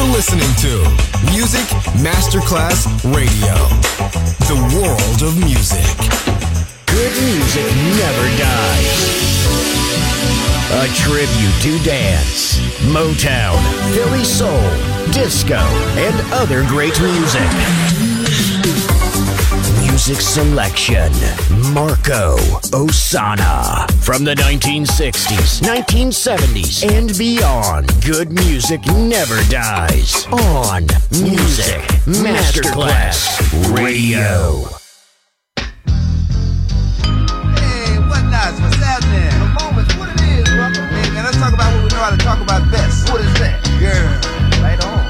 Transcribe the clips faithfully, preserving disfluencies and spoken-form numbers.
You're listening to Music Masterclass Radio, the world of music. Good music never dies. A tribute to dance, Motown, Philly soul, disco, and other great music. Music selection, Marco Ossanna. From the nineteen sixties, nineteen seventies, and beyond, good music never dies. On Music Masterclass Radio. Hey, what nice? What's happening? The moments, what it is, brother. Hey, man, let's talk about what we know how to talk about best. What is that? Girl, right on.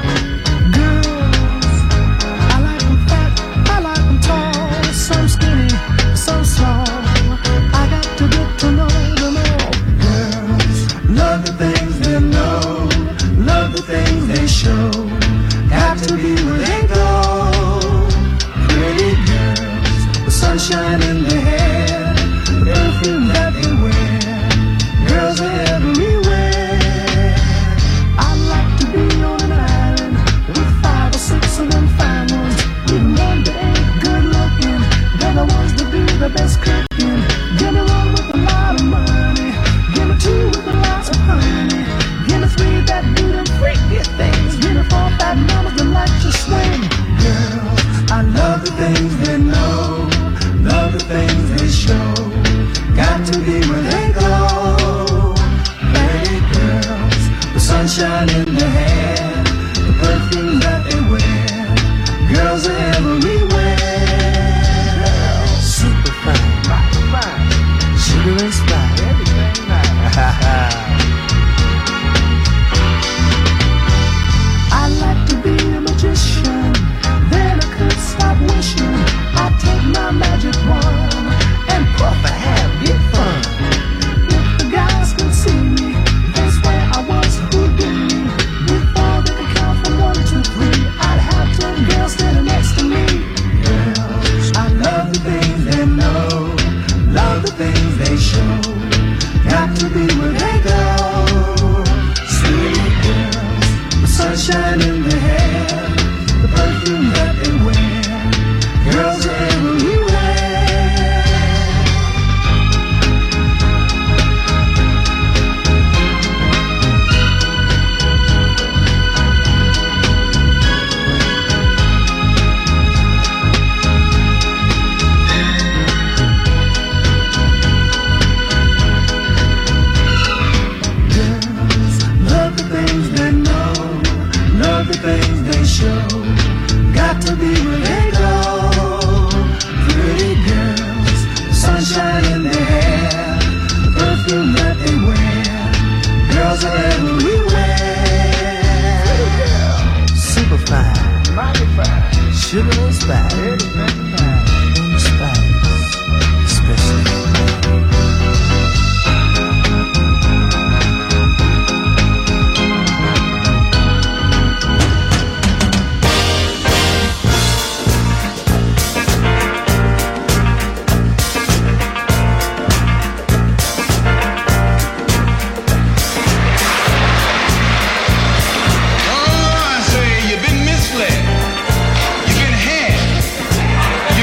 Some skinny, some small. I got to get to know them all. Girls love the things they know, love the things they show. Got to be where they go. Pretty girls with sunshine in their hair, the perfume that they wear. Girls are everywhere. I like to be on an island with five or six of them fine ones. With one that ain't good looking, they're the ones that do the best cooking. Give me one with a lot of money, give me two with a lot of honey, give me three that do them freaky things, give me four fat mamas that like to swing. Girls, I love the things they know, love the things they show. Got to be where they go. Pretty girls, the sunshine in their hair, the perfume that they wear. Girls are everywhere. Super fine, mighty fine, sugar and spice, everything nice. I like to be a magician, then I could stop wishing. I take my magic wand and puff and have big fun. If the guys could see me, they swear I was Houdini. Before they could count from one to three, I'd have ten girls standing next to me. Girls, I love the things they know, love the things they show. Got to be where they go. Sweet girls, the sunshine in their hair, the perfume that they wear. Girls are everywhere. The things they show, got to be where they go. Pretty girls, sunshine in their hair, the perfume that they wear. Girls are everywhere. Super fine, mighty fine, sugar and spice, everything fine, spice, special. Oh, I say, you've been misled. You've been had.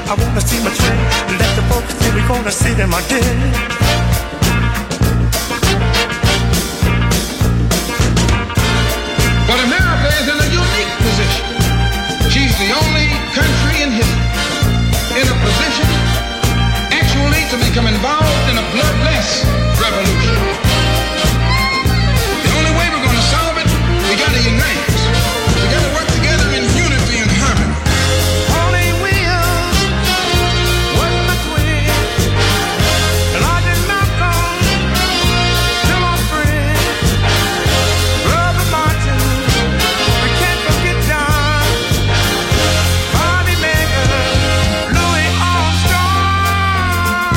I wanna see my trend. Let the folks say we're gonna sit in my den. But America is in a unique position. She's the only country in history in a position actually to become involved in a bloodless revolution. The only way we're going to solve it, we got to unite. We got to work together in unity and harmony. Only will was my twin, and I did not come to my friend, Brother Martin. We can't forget John, Bobby Mayer, Louis Armstrong.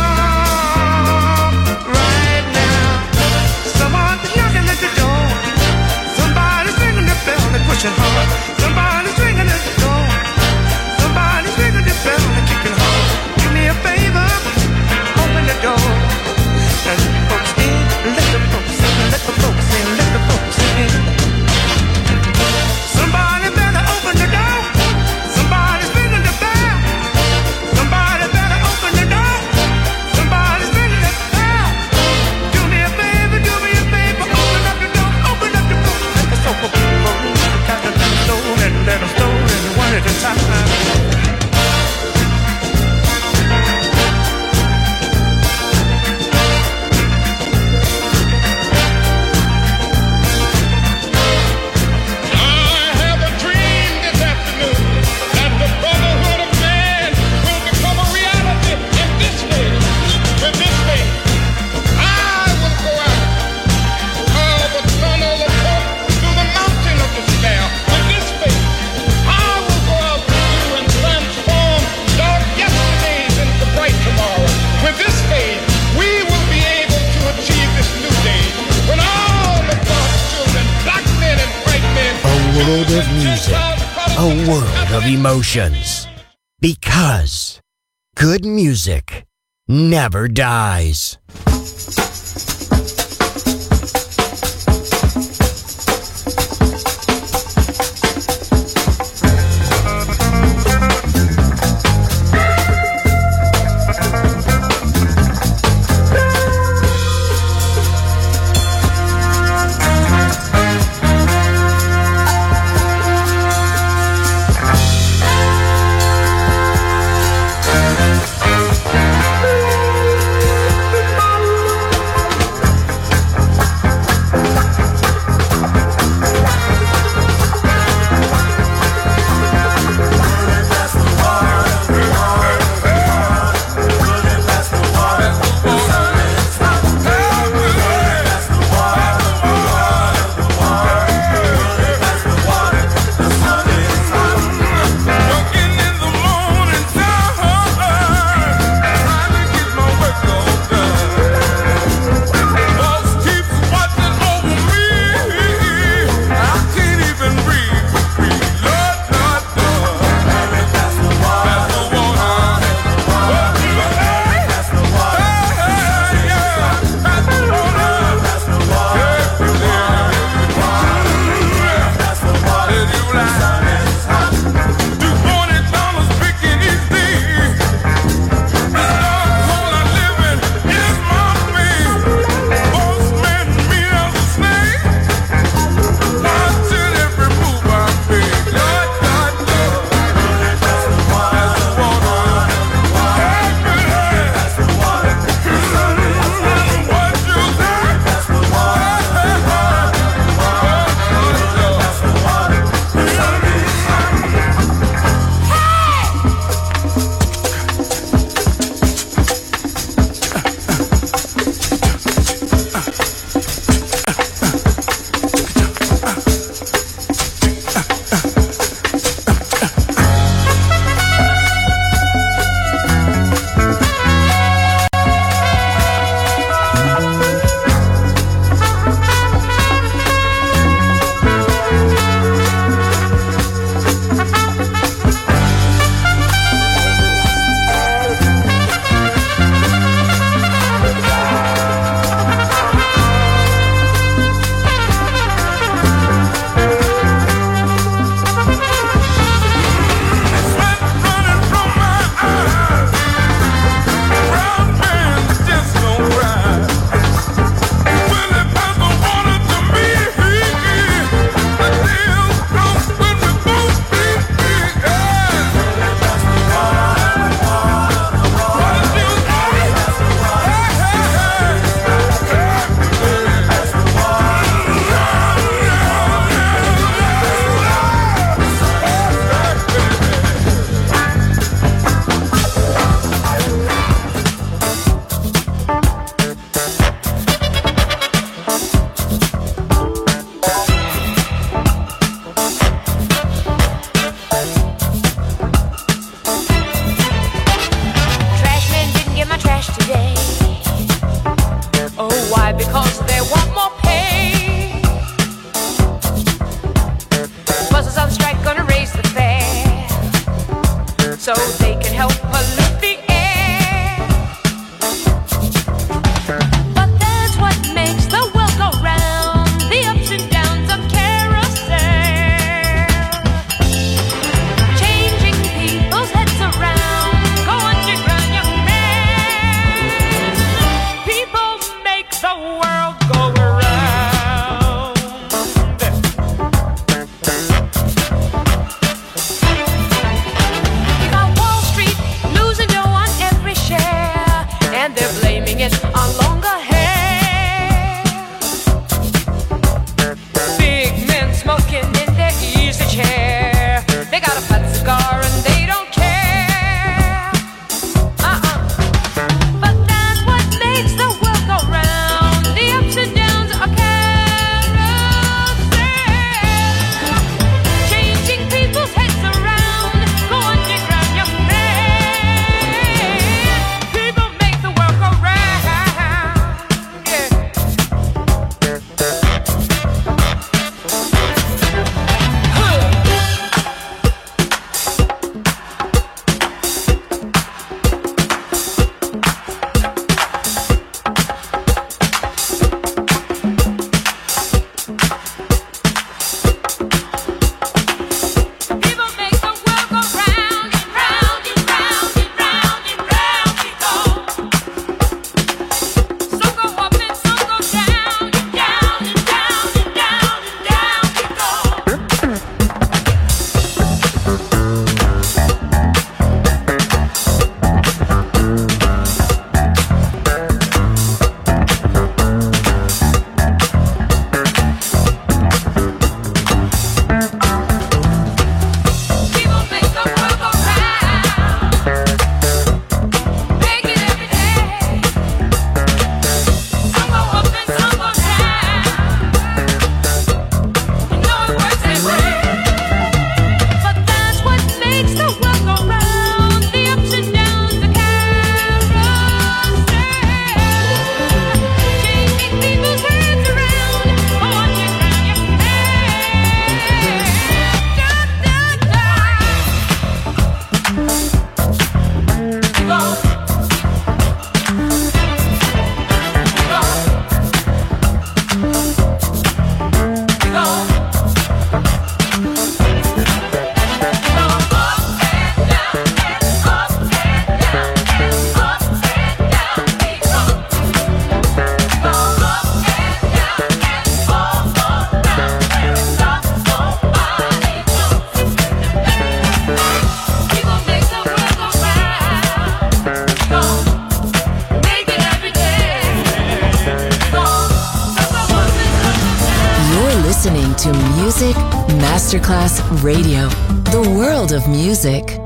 Right now, someone's knocking at the door. Somebody's ringing the bell and pushing hard. Somebody's ringing at the door. Somebody's ringing the bell and kicking hard. Do me a favor, open the door. And let the folks in, let the folks in, let the folks in, let the folks in. Somebody better open the door. Somebody's ringing the bell. Somebody better open the door. Somebody's ringing the bell. Do me a favor, do me a favor, open up the door, open up the door. Let the sofa people room, got to let them know and let them know and one at a time. I have a dream this afternoon that the brotherhood of man will become a reality in this day. With this day, I will go out, call the tunnel of hope through the mountain of despair. With this faith, I will go out with you and transform dark yesterdays into bright tomorrow. With this faith, we will be able to achieve this new day when all of God's children, black men and white men, A world of music, a world of emotions. Because good music never dies. Music Masterclass Radio, the world of music.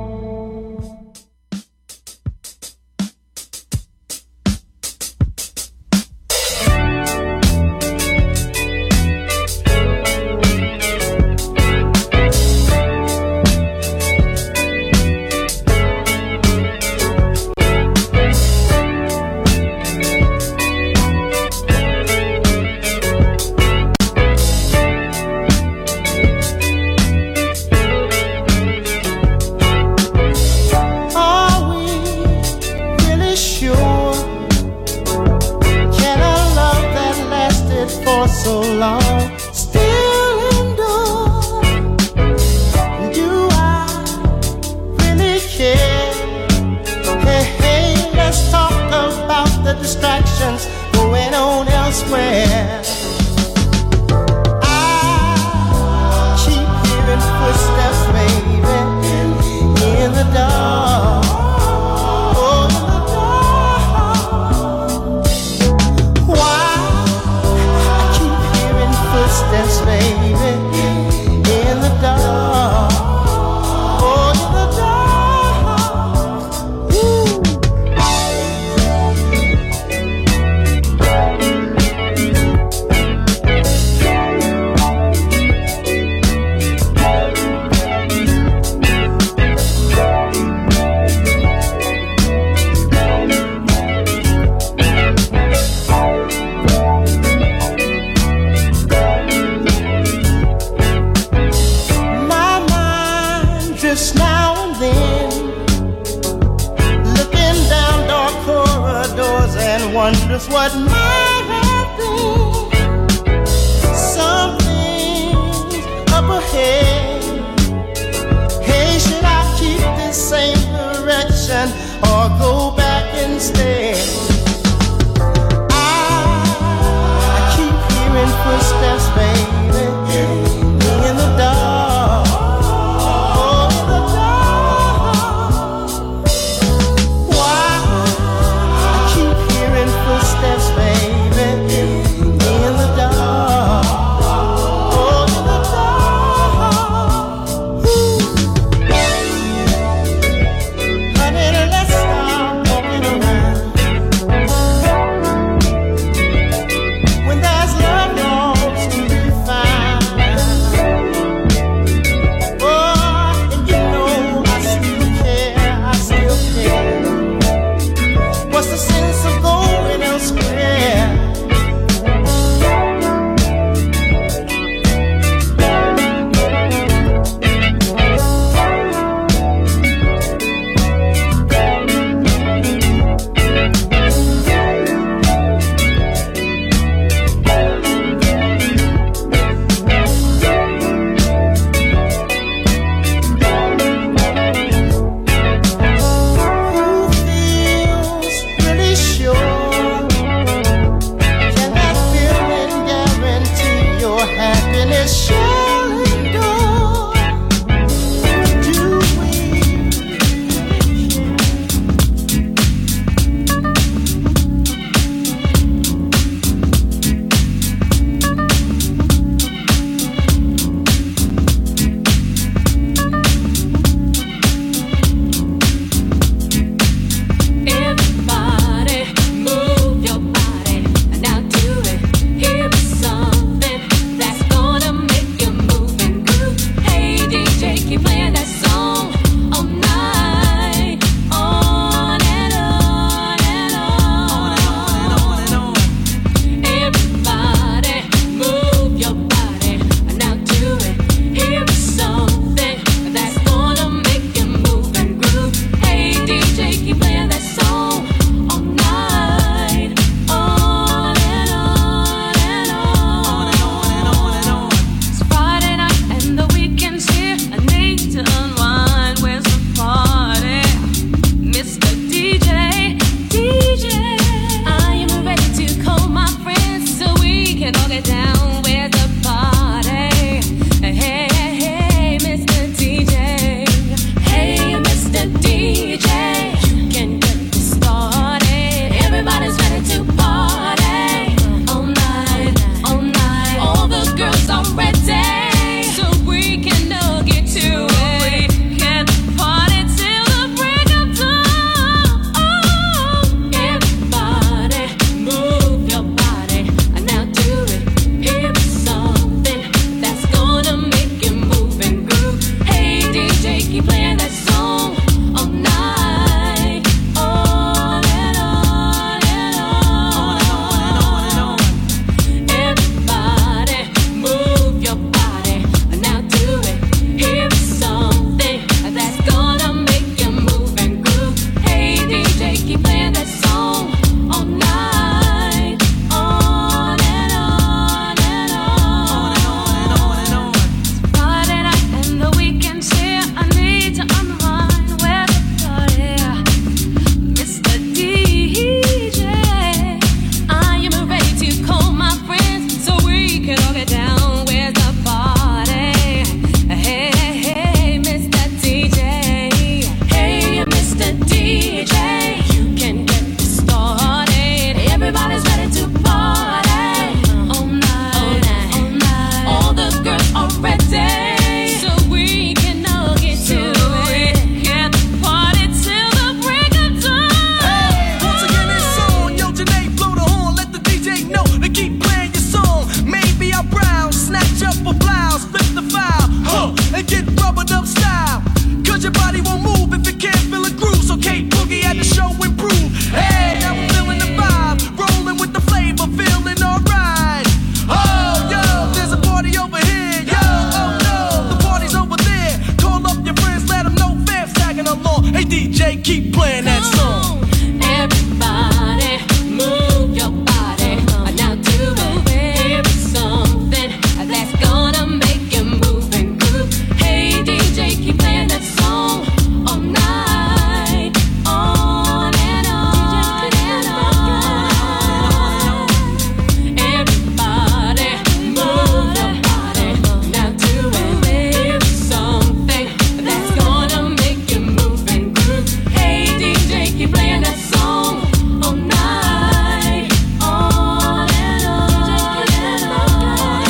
keep playing that song. Everybody, move your body. Now do it. Here's something that's gonna make you move and groove. Hey D J, keep playing that song all night, on and on and on. Everybody, move your body. Now do it. Here's something that's gonna make you move and groove. Hey D J, keep playing that song all night, on and on and on.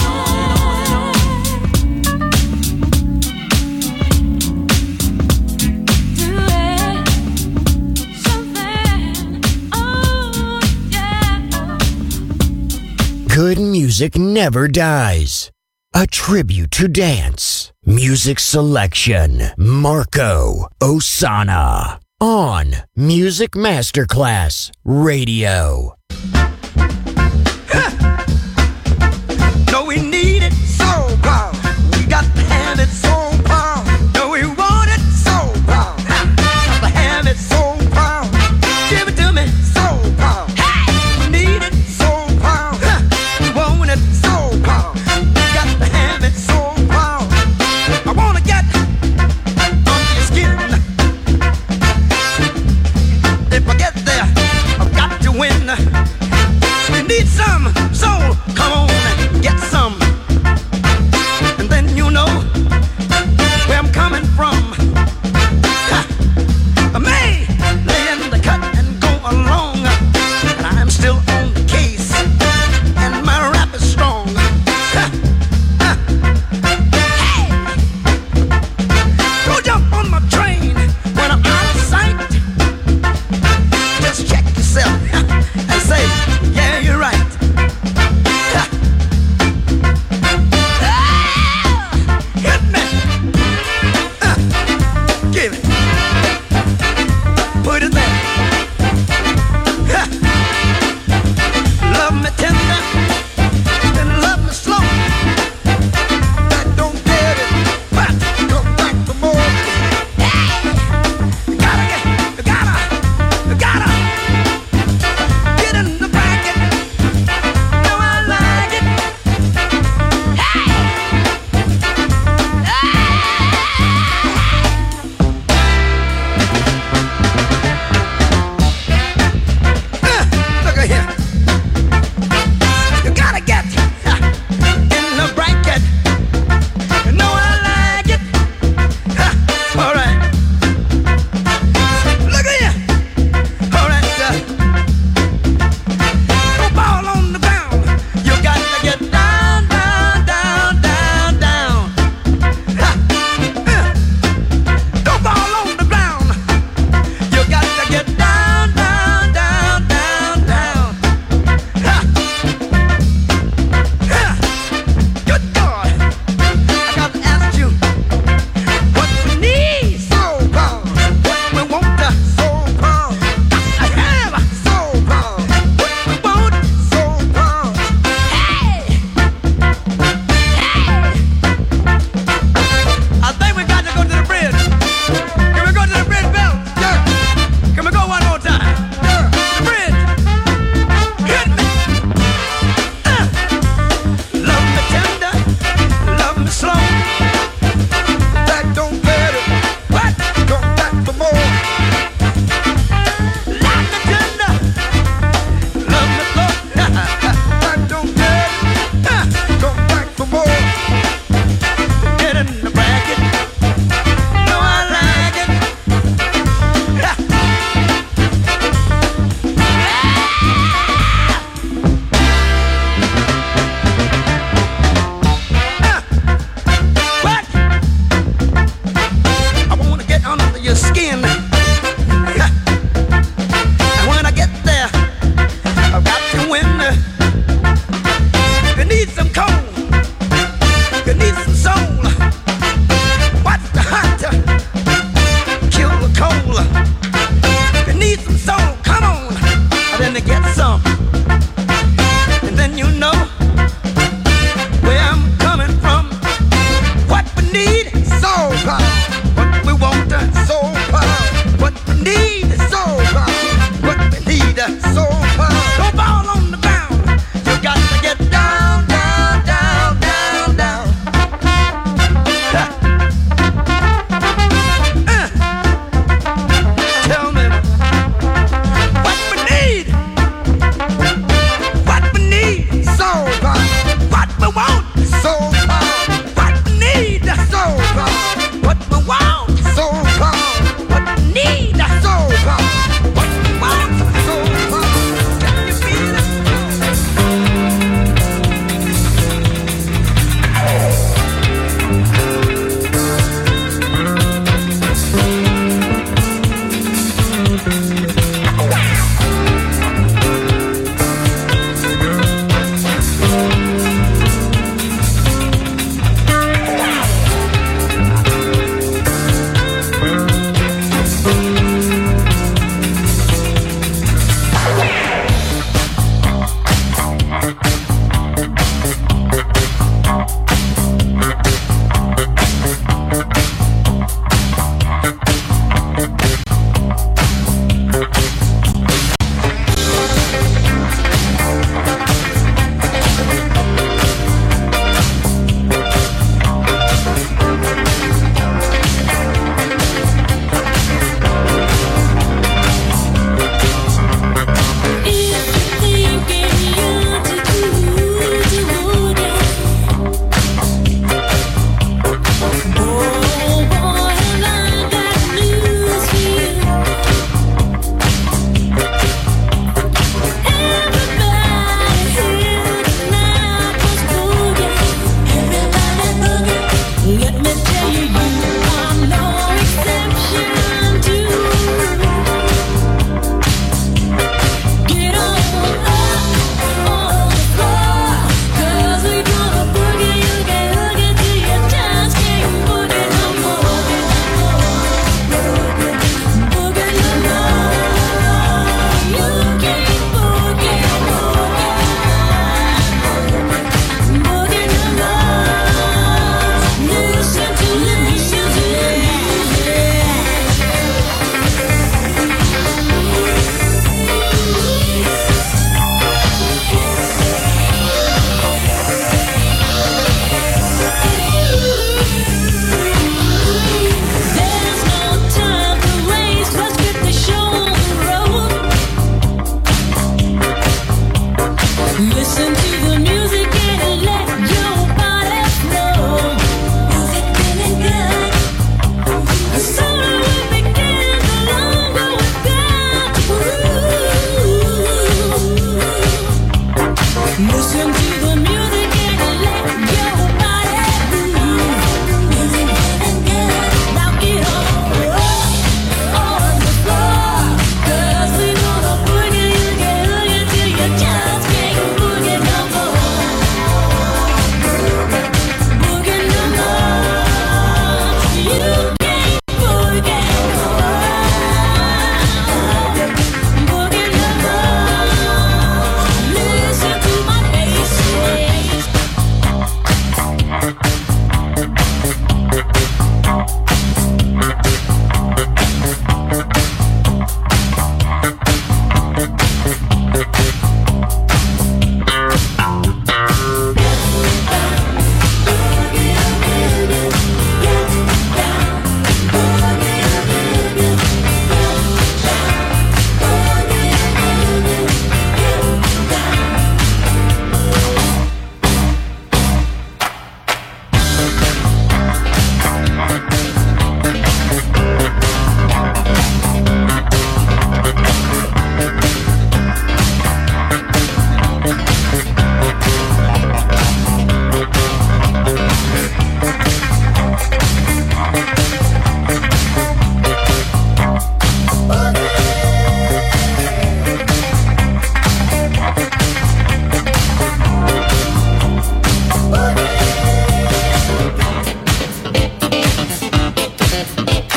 Do it, something, oh yeah. Good music never dies. A tribute to dance. Music selection. Marco Ossanna. On Music Masterclass Radio. No, we need it so proud. We got to have it so proud. No, we want it so proud. Got to have it so proud. Give it to me so proud. We need it so proud. We want it so proud. We got to have it so proud. I wanna get under your skin. If I get there, I've got to win.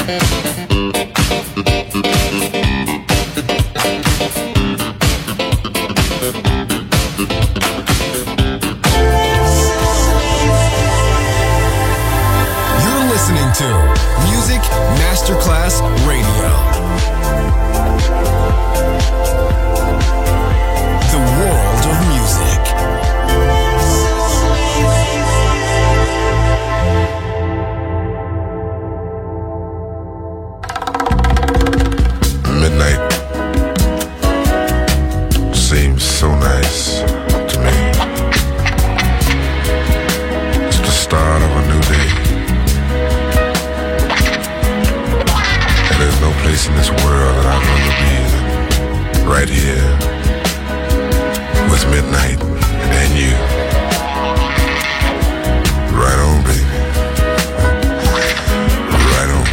You're listening to Music Masterclass Radio. The world of music. Midnight seems so nice to me. It's the start of a new day. And there's no place in this world that I'd rather be than right here with midnight and you. Right on, baby. Right on.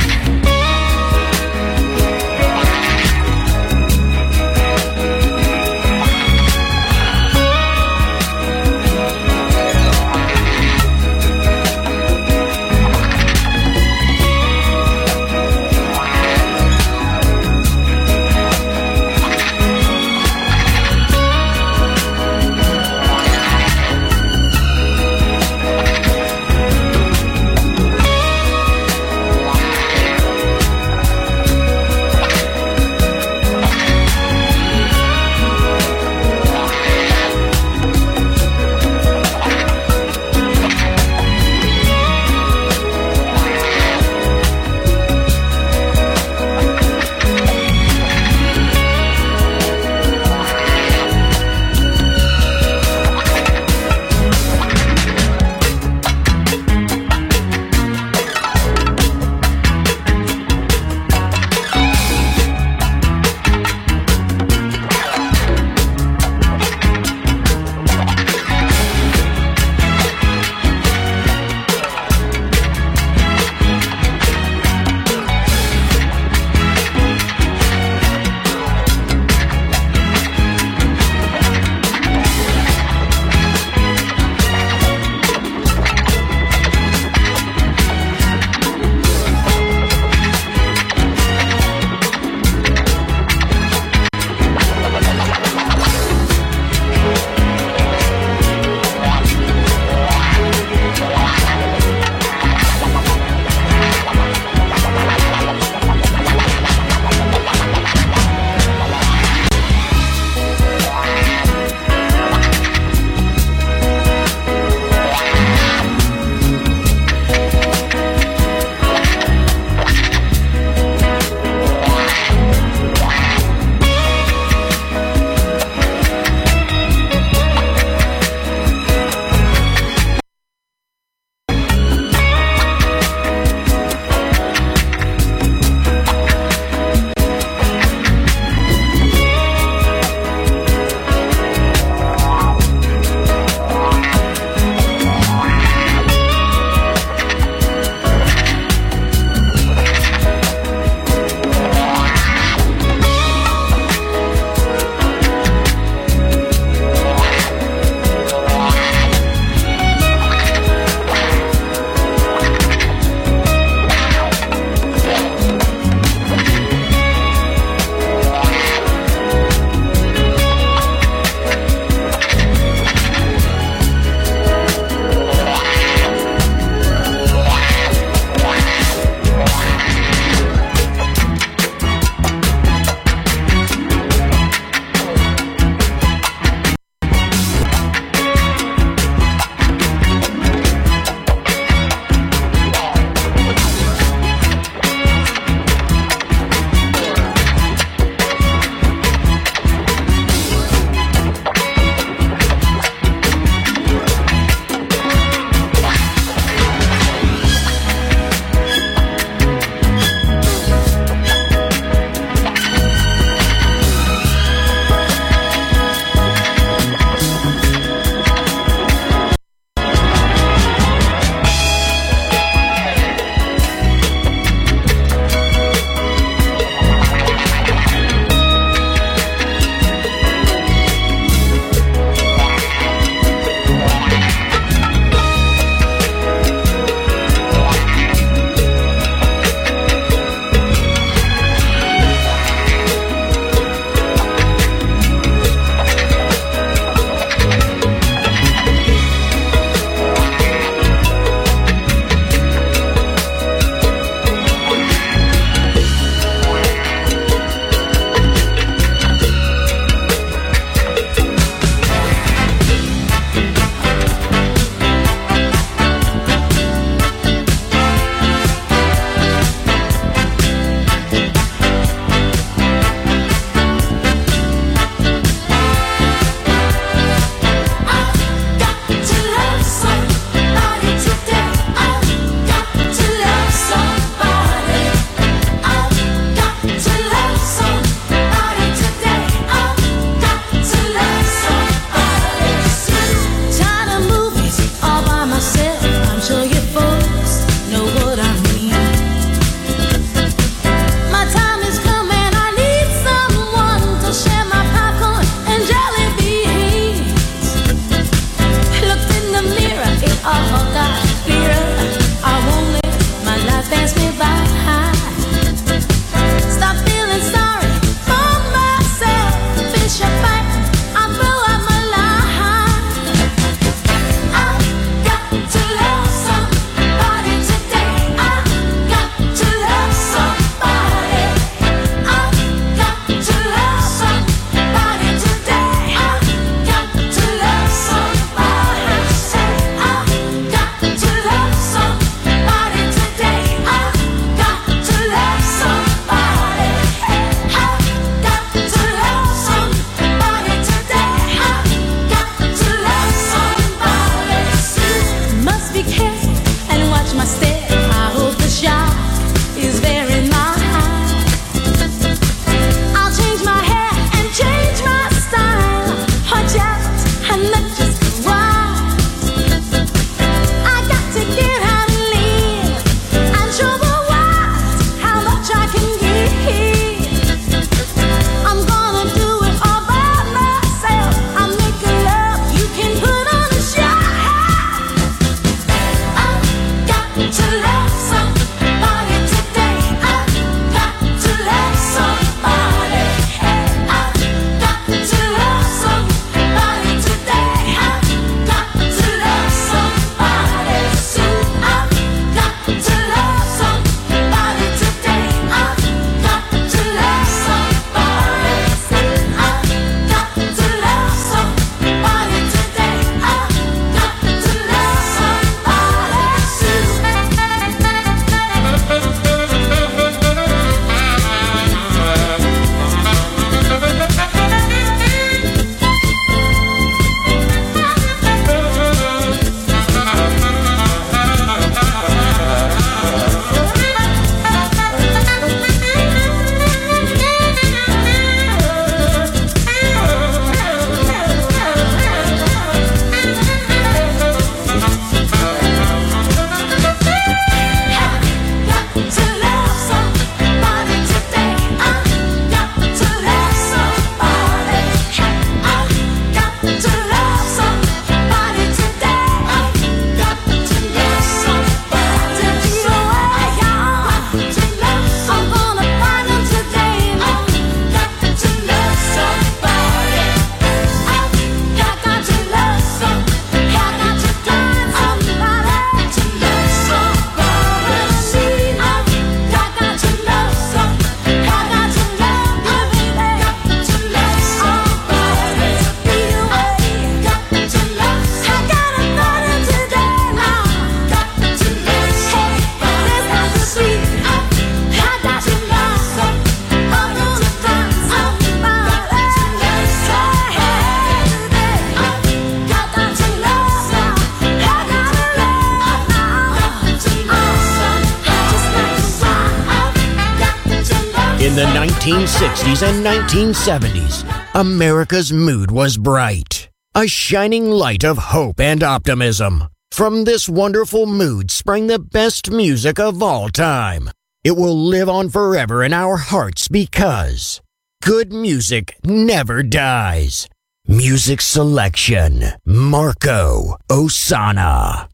In the nineteen sixties and nineteen seventies, America's mood was bright, a shining light of hope and optimism. From this wonderful mood sprang the best music of all time. It will live on forever in our hearts because good music never dies. Music selection, Marco Ossanna.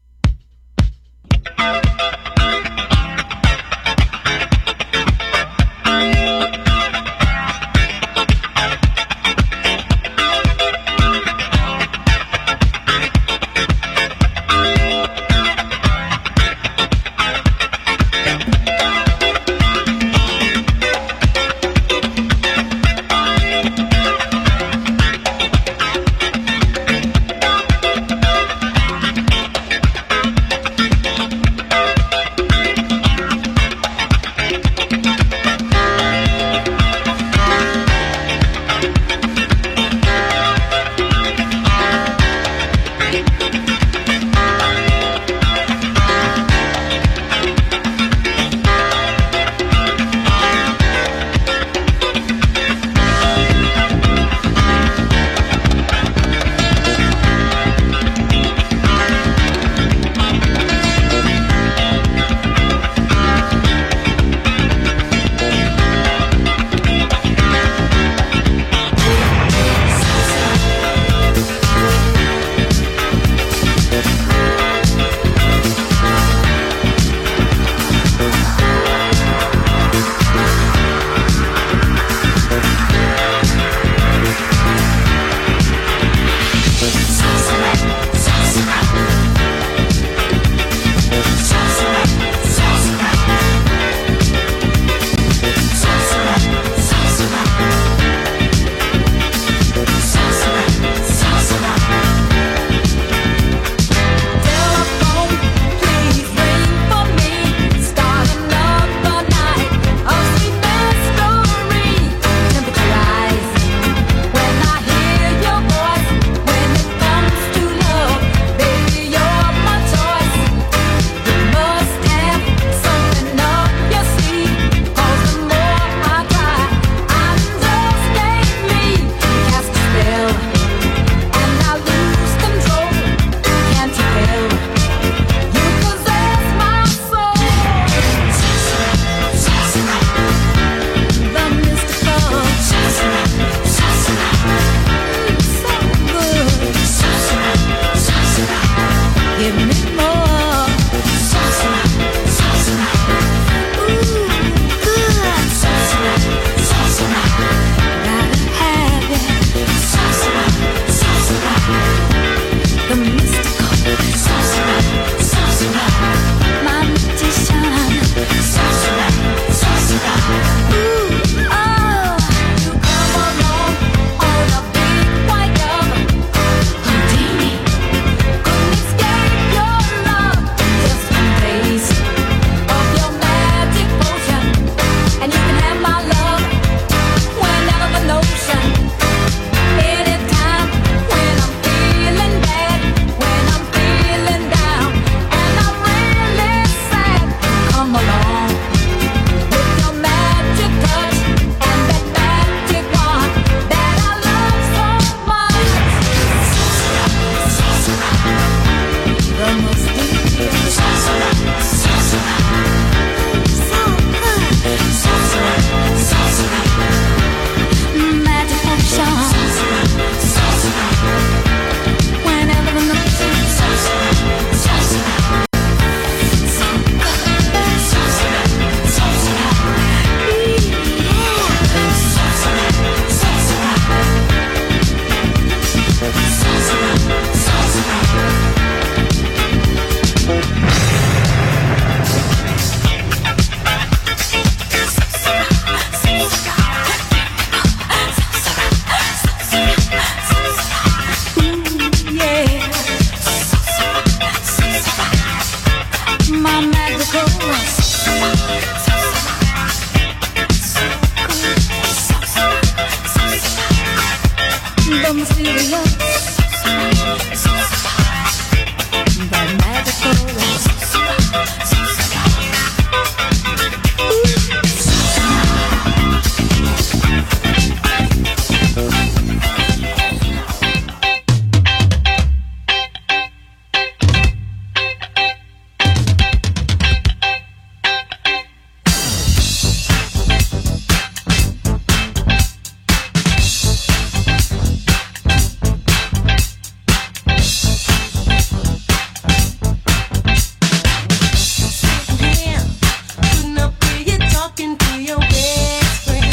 talking to your best friend.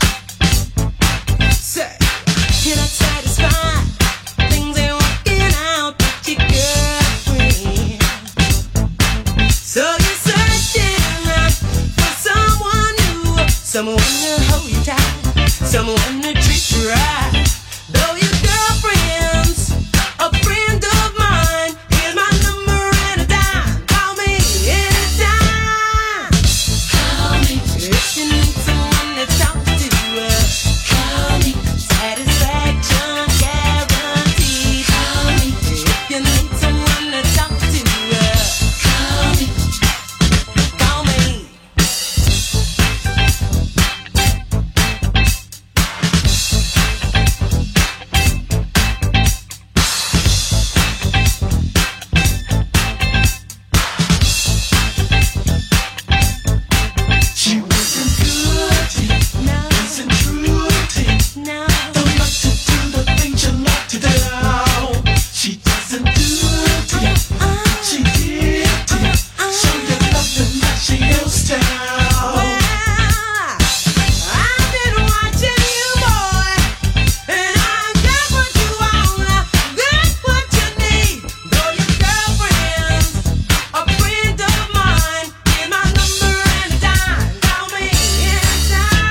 Say, can I satisfy things ain't working out with your girlfriend? So you're searching around for someone new, someone to hold you tight, someone to treat you right. Though your girlfriend's a friend of mine, here's my number and a dime. Call me anytime. Call me if you need someone to talk to. Call me, satisfaction guaranteed. Call me if you need someone to talk to. Call me, call me. She wasn't good to you, No, wasn't true to you. no. Don't like to do the things you like to do. She doesn't do to you, she did to you. Show you nothing that she used to. I've been watching you, boy, and I got what you want, got what you need. Though your girlfriend's a friend of mine, here's my number and a dime. Call me anytime.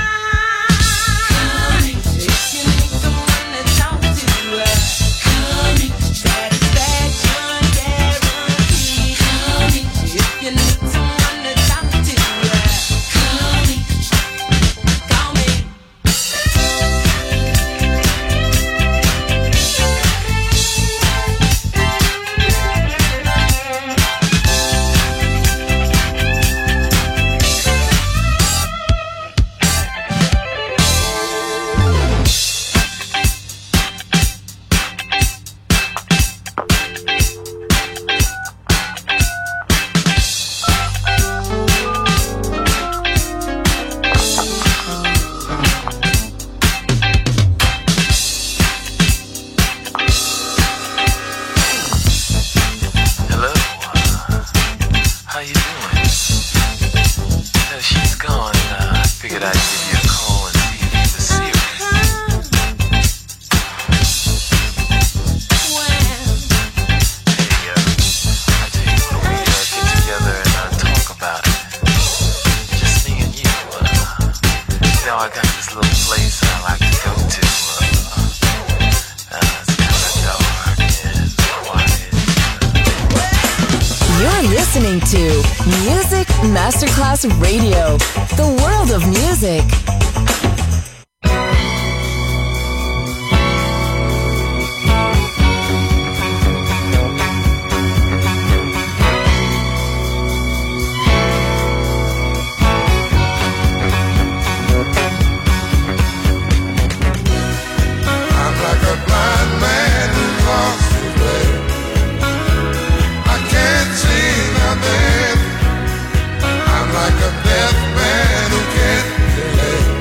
If you need someone to talk to, call me. Satisfaction guaranteed. Call me. If you need someone to talk to, call me. Call me. Hello, how you doing? Uh, she's gone. Uh, I figured I'd give you a call and see if you were serious. Well, Hey, uh, I tell you what, we uh, get together and uh, talk about it. Just me and you. Uh, you know, I got this little place I like to go to. Uh, uh, it's kind of dark and quiet. You're listening to Music Masterclass Radio, the world of music. I'm like a blind man who lost his way. I can't see nothing. I'm like a deaf man who can't relate.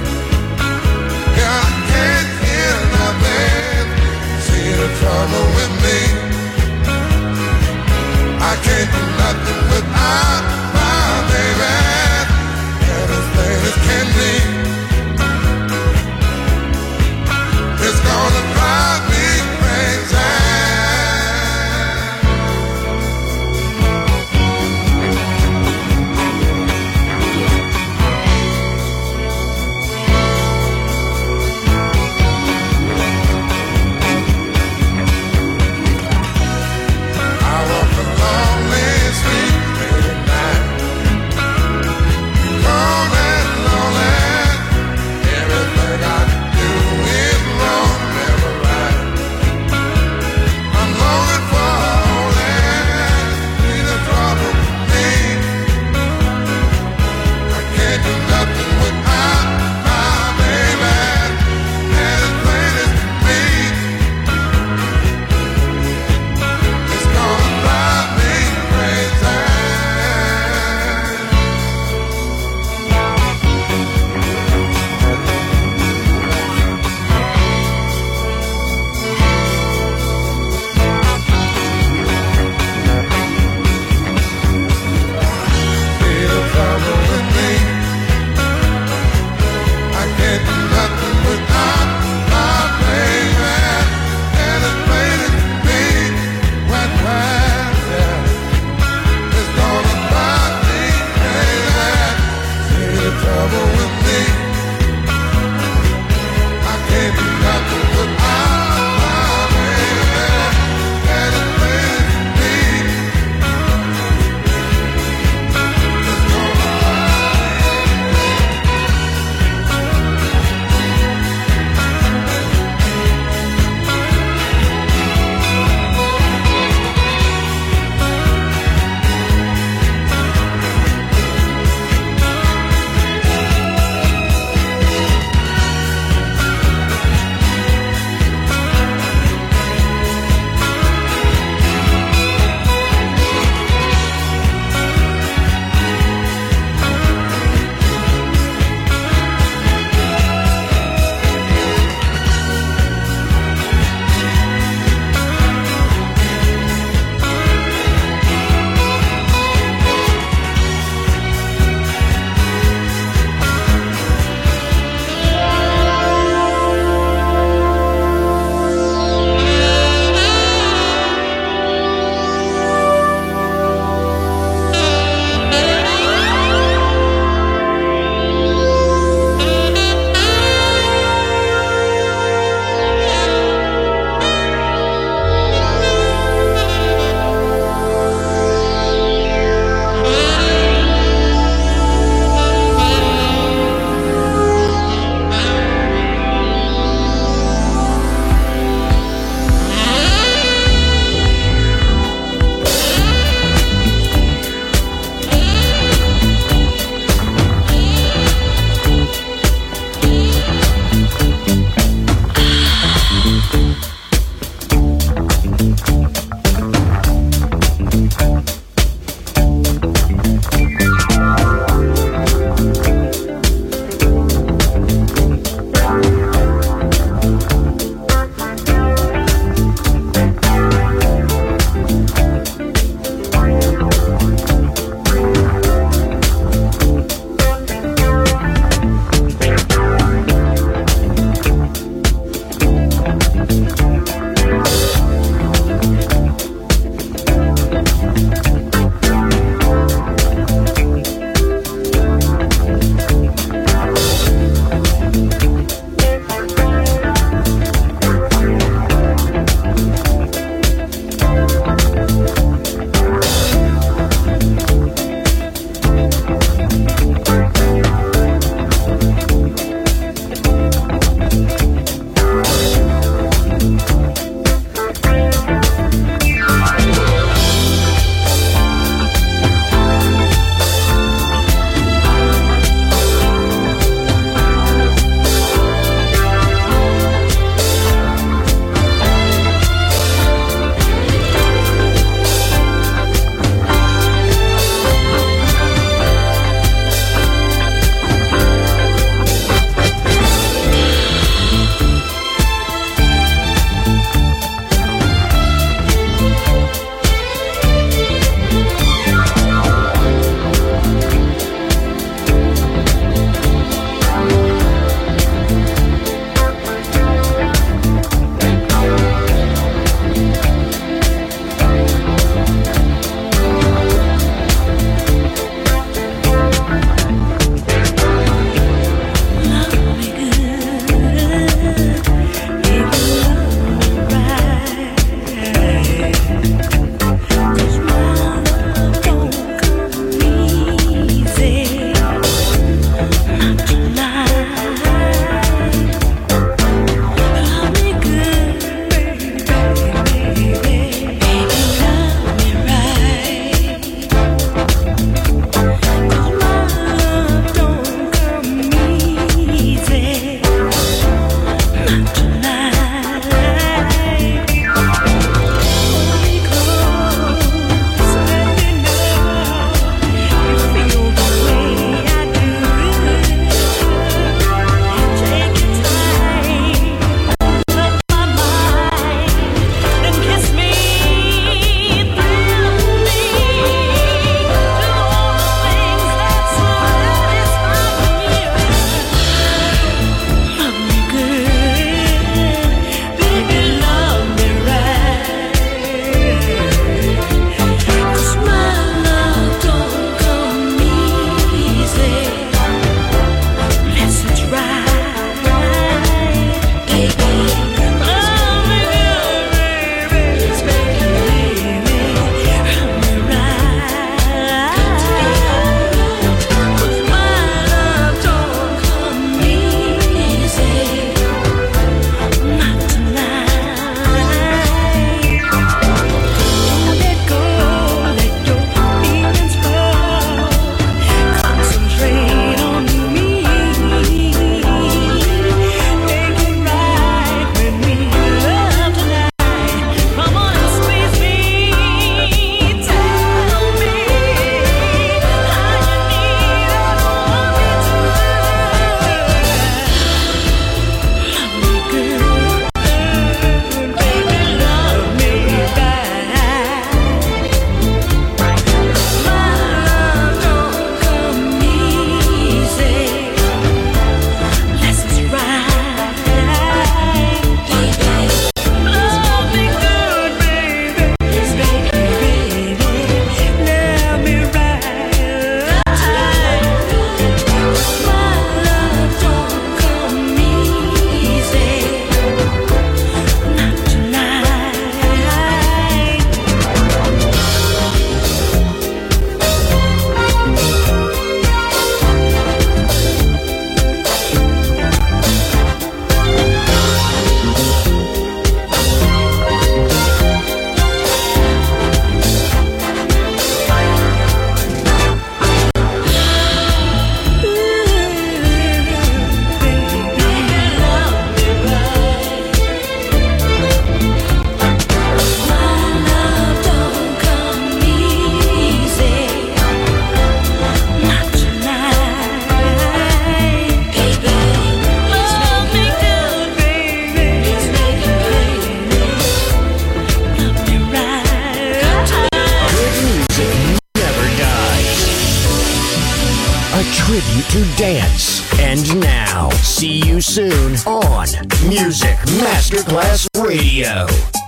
now. See you soon on Music Masterclass Radio.